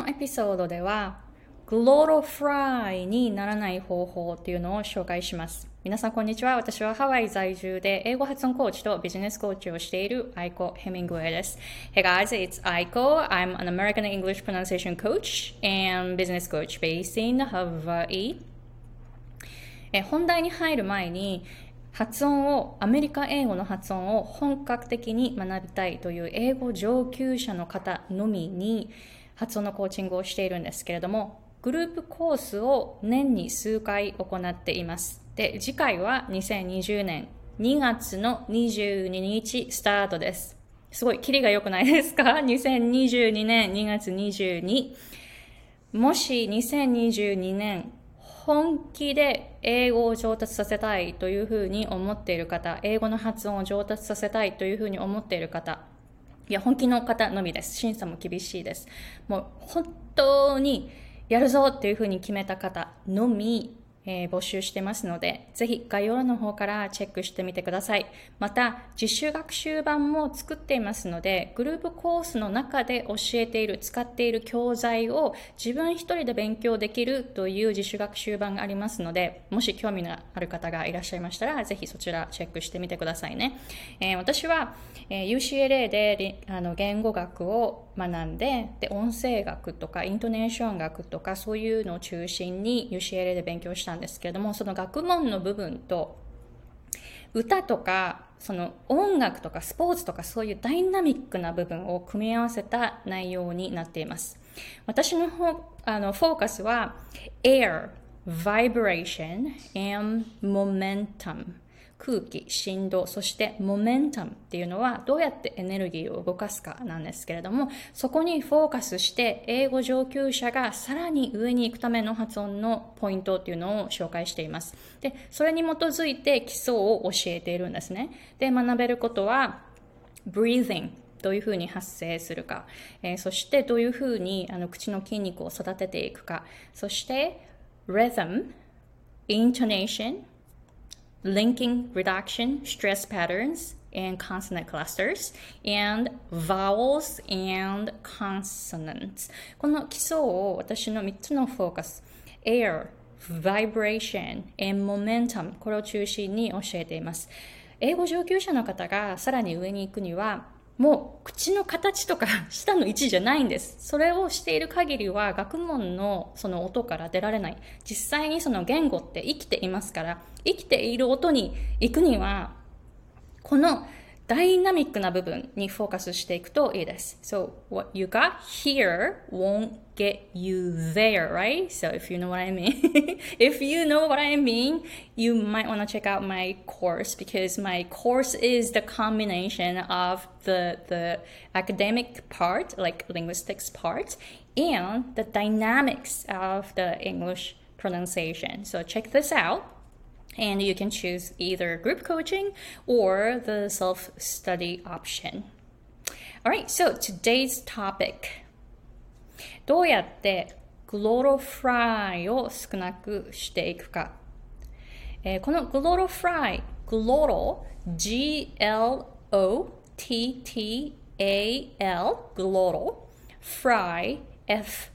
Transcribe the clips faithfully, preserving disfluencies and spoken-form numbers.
のエピソードではグロロフライにならない方法っていうのを紹介します。皆さんこんにちは。私はハワイ在住で英語発音コーチとビジネスコーチをしているアイコ・ヘミングウェイです。Hey guys, it's Aiko. I'm an American English pronunciation coach and business coach based in Hawaii. え本題に入る前に発音を、アメリカ英語の発音を本格的に学びたいという英語上級者の方のみに発音のコーチングをしているんですけれども、グループコースを年に数回行っています。で、次回はにせんにじゅうねんにがつのにじゅうににちスタートです。すごい、キリが良くないですか ?にせんにじゅうにねんにがつにじゅうに。もしにせんにじゅうにねん本気で英語を上達させたいというふうに思っている方、英語の発音を上達させたいというふうに思っている方、いや、本気の方のみです。審査も厳しいです。もう本当にやるぞっていうふうに決めた方のみ、えー、募集してますので、ぜひ概要欄の方からチェックしてみてください。また、自主学習版も作っていますので、グループコースの中で教えている、使っている教材を自分一人で勉強できるという自主学習版がありますので、もし興味のある方がいらっしゃいましたら、ぜひそちらチェックしてみてくださいね。えー、私は、えー、ユーシーエルエー であの言語学を学んで、で、音声学とかイントネーション学とかそういうのを中心に ユーシーエルエー で勉強したんですけれども、その学問の部分と歌とかその音楽とかスポーツとかそういうダイナミックな部分を組み合わせた内容になっています。私の方あのフォーカスは Air, Vibration and Momentum、空気、振動、そしてモメンタムっていうのはどうやってエネルギーを動かすかなんですけれども、そこにフォーカスして英語上級者がさらに上に行くための発音のポイントっていうのを紹介しています。で、それに基づいて基礎を教えているんですね。で、学べることは breathing、どういうふうに発声するか、えー、そしてどういうふうにあの口の筋肉を育てていくか、そして rhythm、intonation、linking reduction, stress patterns, and consonant clusters, and vowels and consonants. この基礎を私のみっつのフォーカス、air, vibration, and momentum、これを中心に教えています。英語上級者の方がさらに上に行くには、もう口の形とか舌の位置じゃないんです。それをしている限りは学問のその音から出られない。実際にその言語って生きていますから、生きている音に行くにはこのダイナミックな部分にフォーカスしていくといいです。So, what you got here won't get you there, right? So, if you know what I mean, if you know what I mean, you might want to check out my course because my course is the combination of the, the academic part, like linguistics part, and the dynamics of the English pronunciation. So, check this out.And you can choose either group coaching or the self-study option. Alright, so today's topic. どうやってグロロフライを少なくしていくか。えー、このグロロフライ、グロロ、G L O T T A L、グロロ、フライ、F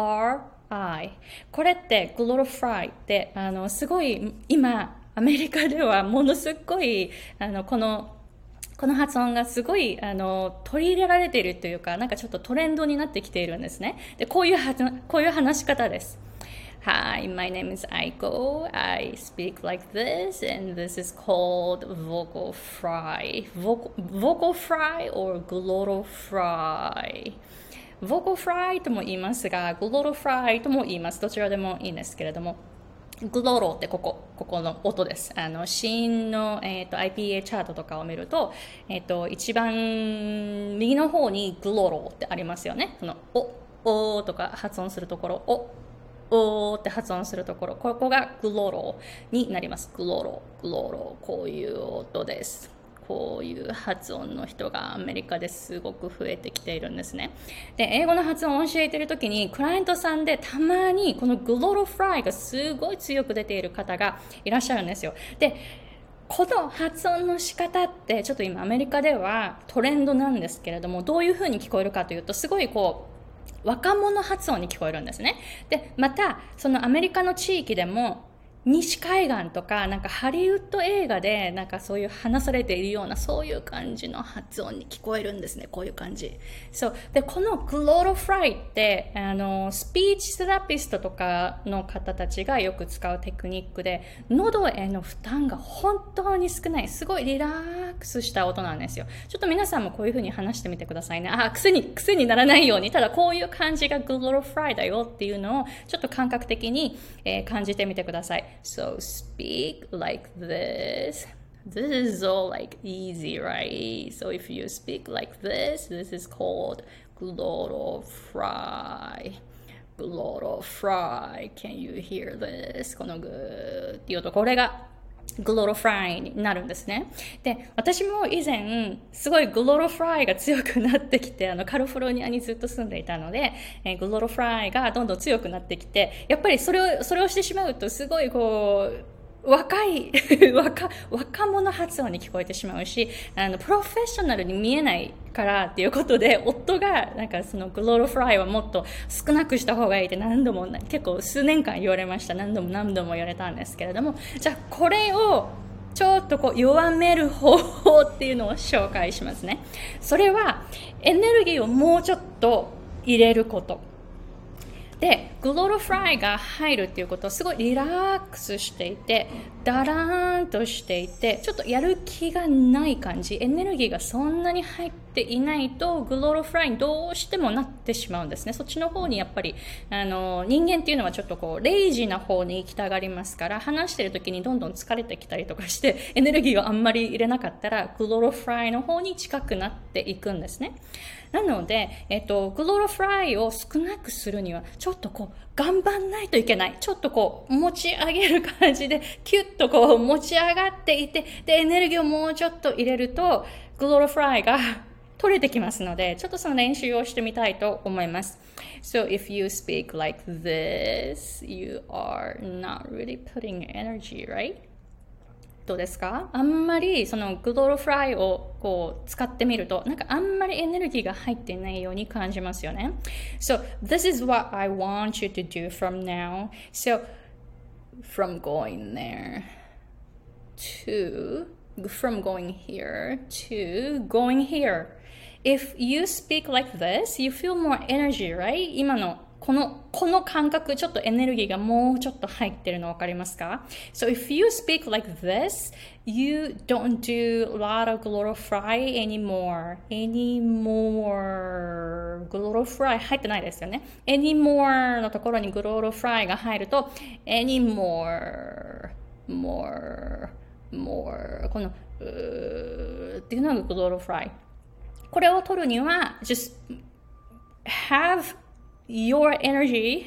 R I、これってグロロフライってあのすごい今アメリカではものすごいあのこのこの発音がすごいあの取り入れられているというか、なんかちょっとトレンドになってきているんですね。で、こういうはこういう話し方です。Hi, my name is Aiko. I speak like this, and this is called vocal fry. Vocal, vocal fry or glottal fry.ボコフライとも言いますが、グロロフライとも言います。どちらでもいいんですけれども、グロロってここ、ここの音です。あの、子音の、えーと、アイピーエー チャートとかを見ると、えっと、一番右の方にグロロってありますよね。その、お、おとか発音するところ、お、おって発音するところ、ここがグロロになります。グロロ、グロロ、こういう音です。こういう発音の人がアメリカですごく増えてきているんですね。で、英語の発音を教えているときに、クライアントさんでたまにこのグロロフライがすごい強く出ている方がいらっしゃるんですよ。で、この発音の仕方ってちょっと今アメリカではトレンドなんですけれども、どういう風に聞こえるかというと、すごいこう若者発音に聞こえるんですね。で、また、そのアメリカの地域でも、西海岸とか、なんかハリウッド映画で、なんかそういう話されているような、そういう感じの発音に聞こえるんですね。こういう感じ。そう。で、このグロートフライって、あの、スピーチセラピストとかの方たちがよく使うテクニックで、喉への負担が本当に少ない。すごいリラックスした音なんですよ。ちょっと皆さんもこういう風に話してみてくださいね。あ、癖に、癖にならないように、ただこういう感じがグロートフライだよっていうのを、ちょっと感覚的に、えー、感じてみてください。So speak like this. This is all like easy, right? So if you speak like this, this is called glottal fry. Glottal fry. Can you hear this? このグーっていうと、これがグロートフライになるんですね。で、私も以前、すごいグロートフライが強くなってきて、あの、カリフォルニアにずっと住んでいたので、えー、グロートフライがどんどん強くなってきて、やっぱりそれを、それをしてしまうと、すごいこう、若い若、若者発音に聞こえてしまうし、あの、プロフェッショナルに見えないからっていうことで、夫が、なんかそのグロートフライはもっと少なくした方がいいって何度も、結構数年間言われました。何度も何度も言われたんですけれども、じゃあこれを、ちょっとこう弱める方法っていうのを紹介しますね。それは、エネルギーをもうちょっと入れること。で、グロートフライが入るっていうことはすごいリラックスしていて、ダラーンとしていて、ちょっとやる気がない感じ、エネルギーがそんなに入っていないと、グロートフライにどうしてもなってしまうんですね。そっちの方にやっぱり、あの、人間っていうのはちょっとこう、レイジーな方に行きたがりますから、話してる時にどんどん疲れてきたりとかして、エネルギーをあんまり入れなかったら、グロートフライの方に近くなっていくんですね。なので、えっと、グロートフライを少なくするには、ちょっとこう、頑張んないといけない。ちょっとこう、持ち上げる感じで、キュッとこう、持ち上がっていて、で、エネルギーをもうちょっと入れると、グロートフライが取れてきますので、ちょっとその練習をしてみたいと思います。So, if you speak like this, you are not really putting energy, right?どうですか？あんまりそのグロートフライをこう使ってみると、なんかあんまりエネルギーが入っていないように感じますよね。So, this is what I want you to do from now. So, from going there to, from going here to going here. If you speak like this, you feel more energy, right? 今のこの、この感覚、ちょっとエネルギーがもうちょっと入ってるのわかりますか？ So if you speak like this, you don't do a lot of glottal fry anymore. Anymore. グロートフライ入ってないですよね。Anymore のところにグロートフライが入ると、anymore, more, more. この、うーっていうのがグロートフライ。これを取るには、just have your energy,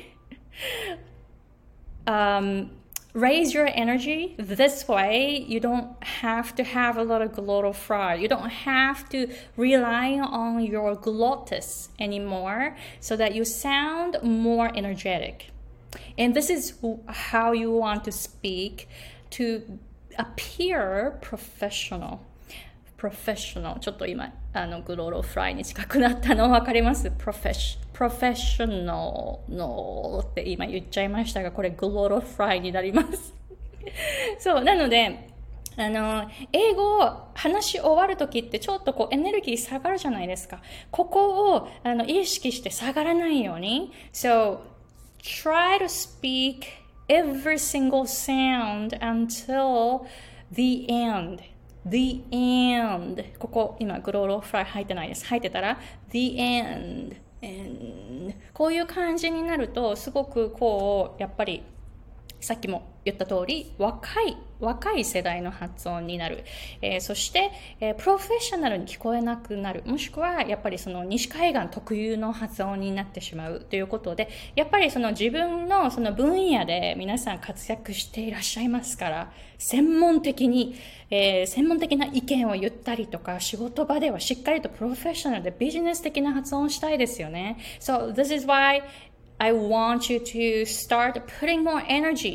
um, raise your energy this way. You don't have to have a lot of glottal fry. You don't have to rely on your glottis anymore so that you sound more energetic. And this is how you want to speak to appear professional.Professional ちょっと今あのグロートフライに近くなったの分かります？ Professional のって今言っちゃいましたが、これグロートフライになりますそうなのであの英語を話し終わるときってちょっとこうエネルギー下がるじゃないですか。ここをあの意識して下がらないように So try to speak every single sound until the end.The end ここ今グロートフライ入ってないです。入ってたら The end, end こういう感じになるとすごくこうやっぱりさっきも言った通り若い若い世代の発音になる、えー、そして、えー、プロフェッショナルに聞こえなくなる、もしくはやっぱりその西海岸特有の発音になってしまうということで、やっぱりその自分のその分野で皆さん活躍していらっしゃいますから、専門的に、えー、専門的な意見を言ったりとか、仕事場ではしっかりとプロフェッショナルでビジネス的な発音をしたいですよね。So this is why I want you to start putting more energy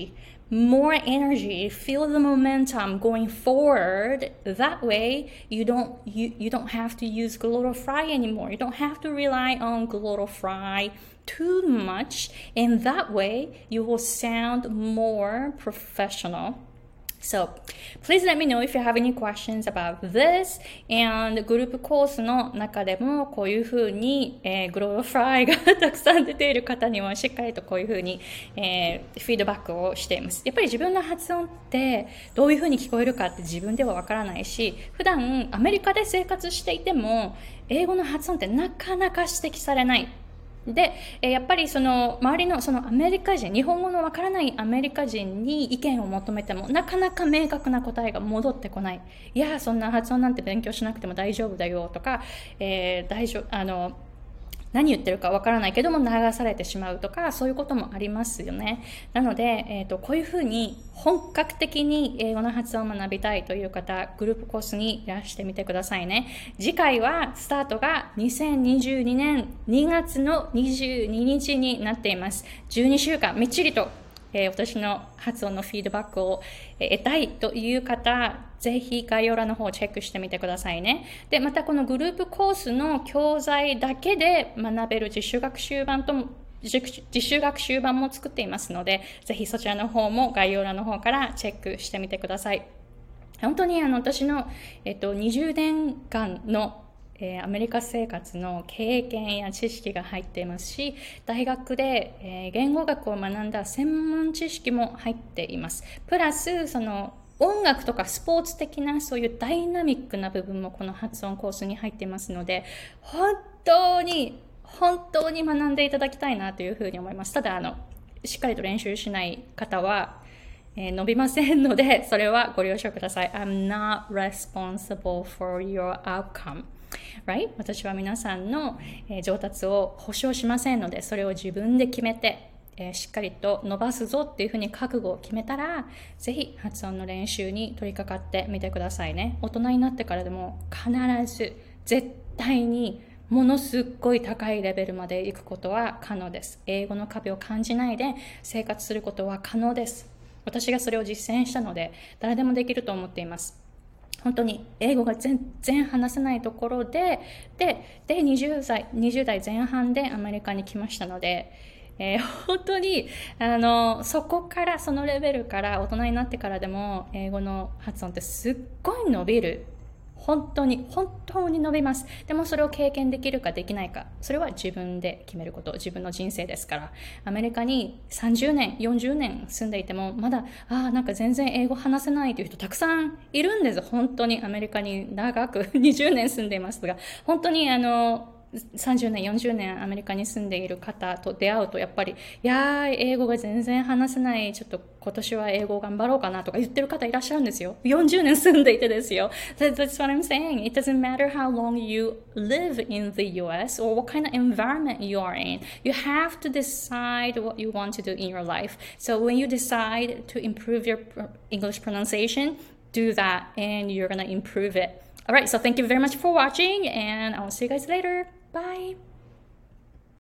more energy, feel the momentum going forward. That way you don't you, you don't have to use Glottal Fry anymore. You don't have to rely on Glottal Fry too much, and that way you will sound more professional. So please let me know if you have any questions about this. And グループコースの中でもこういうふうに、えー、グローフライがたくさん出ている方にもしっかりとこういうふうに、えー、フィードバックをしています。やっぱり自分の発音ってどういうふうに聞こえるかって自分ではわからないし、普段アメリカで生活していても英語の発音ってなかなか指摘されない。で、やっぱりその周りのそのアメリカ人、日本語のわからないアメリカ人に意見を求めてもなかなか明確な答えが戻ってこない。いや、そんな発音なんて勉強しなくても大丈夫だよとか、えー、大丈夫、あの、何言ってるかわからないけども流されてしまうとか、そういうこともありますよね。なので、えーと、こういうふうに本格的に英語の発音を学びたいという方、グループコースにいらしてみてくださいね。次回はスタートがにせんにじゅうにねんにがつのにじゅうににちになっています。じゅうにしゅうかんみっちりとえー、私の発音のフィードバックを得たいという方、ぜひ概要欄の方をチェックしてみてくださいね。で、またこのグループコースの教材だけで学べる実習学習版とも実習学習版も作っていますので、ぜひそちらの方も概要欄の方からチェックしてみてください。本当にあの私の、えっと、にじゅうねんかんのえー、アメリカ生活の経験や知識が入っていますし、大学で、えー、言語学を学んだ専門知識も入っています。プラスその音楽とかスポーツ的なそういうダイナミックな部分もこの発音コースに入っていますので、本当に本当に学んでいただきたいなというふうに思います。ただあのしっかりと練習しない方はえー、伸びませんので、それはご了承ください。I'm not responsible for your outcome.Right? 私は皆さんの、えー、上達を保証しませんので、それを自分で決めて、えー、しっかりと伸ばすぞっていうふうに覚悟を決めたら、ぜひ発音の練習に取り掛かってみてくださいね。大人になってからでも必ず絶対にものすっごい高いレベルまで行くことは可能です。英語の壁を感じないで生活することは可能です。私がそれを実践したので、誰でもできると思っています。本当に英語が全然話せないところで、で、でにじゅうだい、にじゅうだいぜん半でアメリカに来ましたので、えー、本当にあのそこからそのレベルから大人になってからでも英語の発音ってすっごい伸びる。本当に本当に伸びます。でもそれを経験できるかできないか、それは自分で決めること、自分の人生ですから。アメリカにさんじゅうねんよんじゅうねん住んでいてもまだあーなんか全然英語話せないという人たくさんいるんです。本当にアメリカに長くにじゅうねん住んでいますが、本当にあのさんじゅうねんよんじゅうねんアメリカに住んでいる方と出会うと、やっぱりいやー英語が全然話せない、ちょっと今年は英語を頑張ろうかなとか言ってる方いらっしゃるんですよ。よんじゅうねん住んでいてですよ。 That's what I'm saying. It doesn't matter how long you live in the U S or what kind of environment you are in. You have to decide what you want to do in your life. So when you decide to improve your English pronunciation, do that and you're gonna improve it. Alright, so thank you very much for watching and I'll see you guys later. Bye.